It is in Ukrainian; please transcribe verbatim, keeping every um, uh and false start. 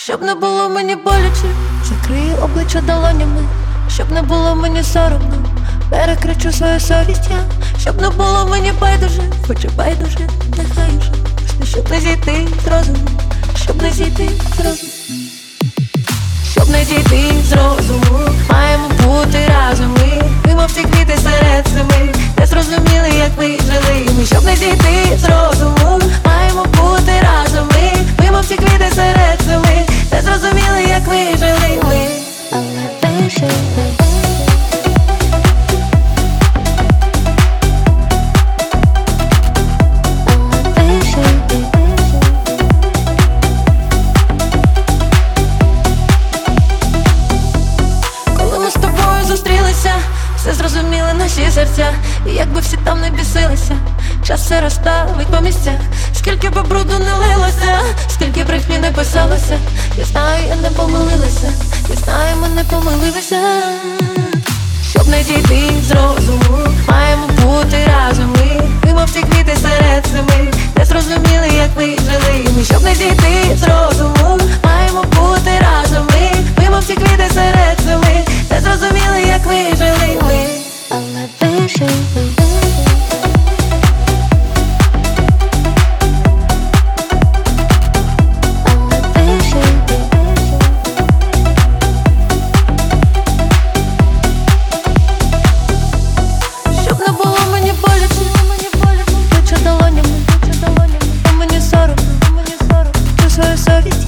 Щоб не було мені боляче, закрию обличчя долонями. Щоб не було мені соромно, перекричу свою совість я. Щоб не було мені байдуже, хоч і байдуже, нехай уже. Просто щоб не зійти з розуму, щоб не зійти з розуму. Щоб не зійти з розуму, маємо бути разом ми. Ми мов ці квіти серед зими, не зрозуміли, як ми жили ми. Щоб не зійти з розуму, маємо бути разом ми. Ми мов ці квіти серед зими, не зрозуміли, як ми жили ми. Але вижили. Все зрозуміли наші серця, і якби всі там не бісилися, час все розставить по місцях. Скільки би бруду не лилося, скільки брехні не писалося. Я знаю, я не помилилася, я знаю, ми не помилилися. Щоб не дійти з розуму, маємо бути разом ми. Ми мов ці квіти серед зими, не зрозуміли, як ми жили ми. Щоб не дійти з розуму, маємо бути разом ми. Ми мов ці квіти серед зими, не зрозуміли, як ми жили ми. Але вижили. Совість